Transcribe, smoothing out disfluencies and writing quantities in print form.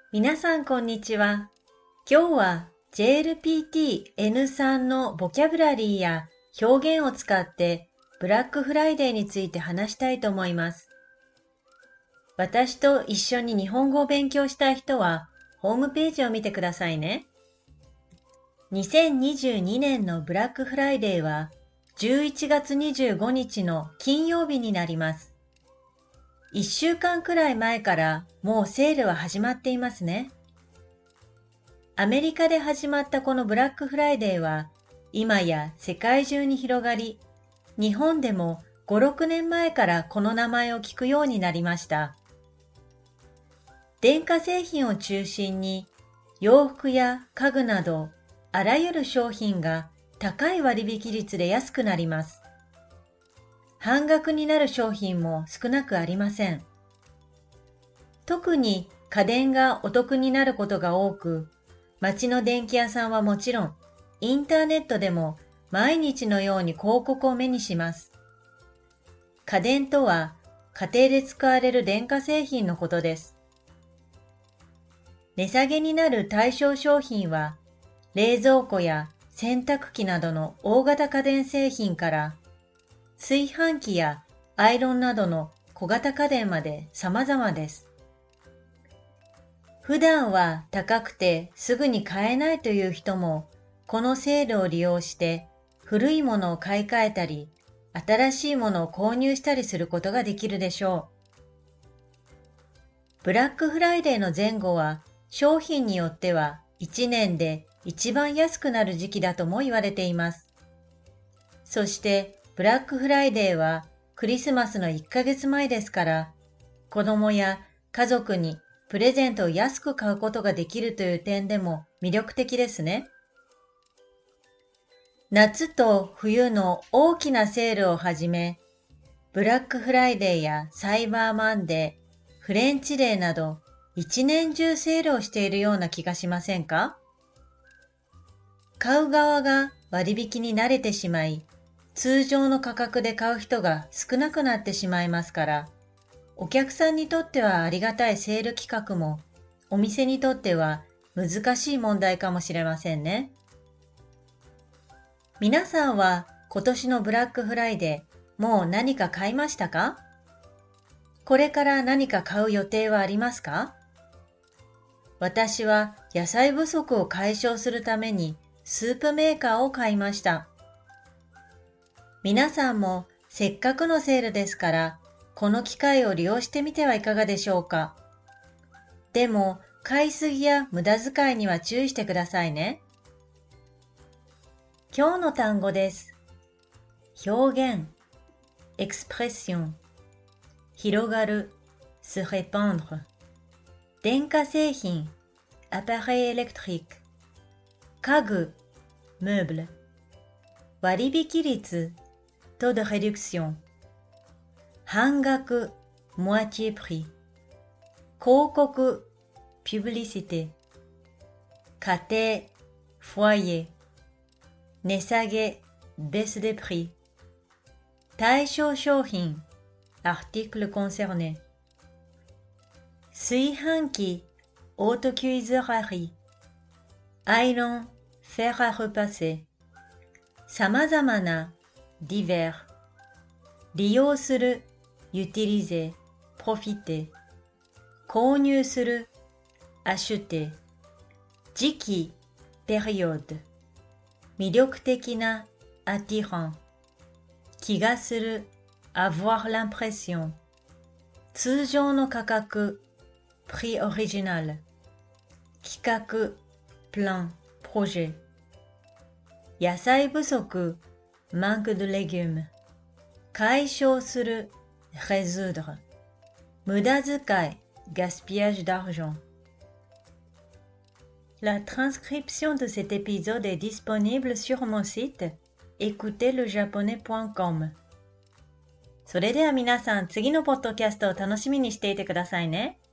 皆さんこんにちは。今日は JLPT-N3 のボキャブラリーや表現を使ってブラックフライデーについて話したいと思います。私と一緒に日本語を勉強したい人はホームページを見てくださいね。2022年のブラックフライデーは11月25日の金曜日になります。1週間くらい前からもうセールは始まっていますね。アメリカで始まったこのブラックフライデーは今や世界中に広がり、日本でも5、6年前からこの名前を聞くようになりました。電化製品を中心に洋服や家具などあらゆる商品が高い割引率で安くなります。半額になる商品も少なくありません。特に家電がお得になることが多く、街の電気屋さんはもちろん、インターネットでも毎日のように広告を目にします。家電とは家庭で使われる電化製品のことです。値下げになる対象商品は、冷蔵庫や洗濯機などの大型家電製品から、炊飯器やアイロンなどの小型家電まで様々です。普段は高くてすぐに買えないという人も、このセールを利用して古いものを買い替えたり、新しいものを購入したりすることができるでしょう。ブラックフライデーの前後は商品によっては1年で一番安くなる時期だとも言われています。そしてブラックフライデーはクリスマスの1ヶ月前ですから、子供や家族にプレゼントを安く買うことができるという点でも魅力的ですね。夏と冬の大きなセールをはじめ、ブラックフライデーやサイバーマンデー、フレンチデーなど一年中セールをしているような気がしませんか？買う側が割引に慣れてしまい、通常の価格で買う人が少なくなってしまいますから、お客さんにとってはありがたいセール企画も、お店にとっては難しい問題かもしれませんね。皆さんは今年のブラックフライデー、もう何か買いましたか？これから何か買う予定はありますか？私は野菜不足を解消するためにスープメーカーを買いました。皆さんもせっかくのセールですから、この機会を利用してみてはいかがでしょうか。でも、買いすぎや無駄遣いには注意してくださいね。今日の単語です。表現、エクスプレッション、広がる、se répandre、電化製品、appareil électrique、家具、meuble、割引率、taux de réduction、半額、moitié prix、広告、publicité、家庭、foyer、値下げ、baisse des prix、対象商品、article concerné、炊飯器、autocuisinière、アイロン、fer à repasser、様々な、divers、利用する、utiliser、profiter、購入する、acheter、時期、période、魅力的な、attirant、気がする、avoir l'impression、通常の価格、prix original、企画、plan、projet、野菜不足、manque de légumes、解消する、résoudre、無駄遣い、gaspillage d'argent。La transcription de cet épisode est disponible sur mon site écoutezlejaponais.com。それでは皆さん、次のポッドキャストを楽しみにしていてくださいね。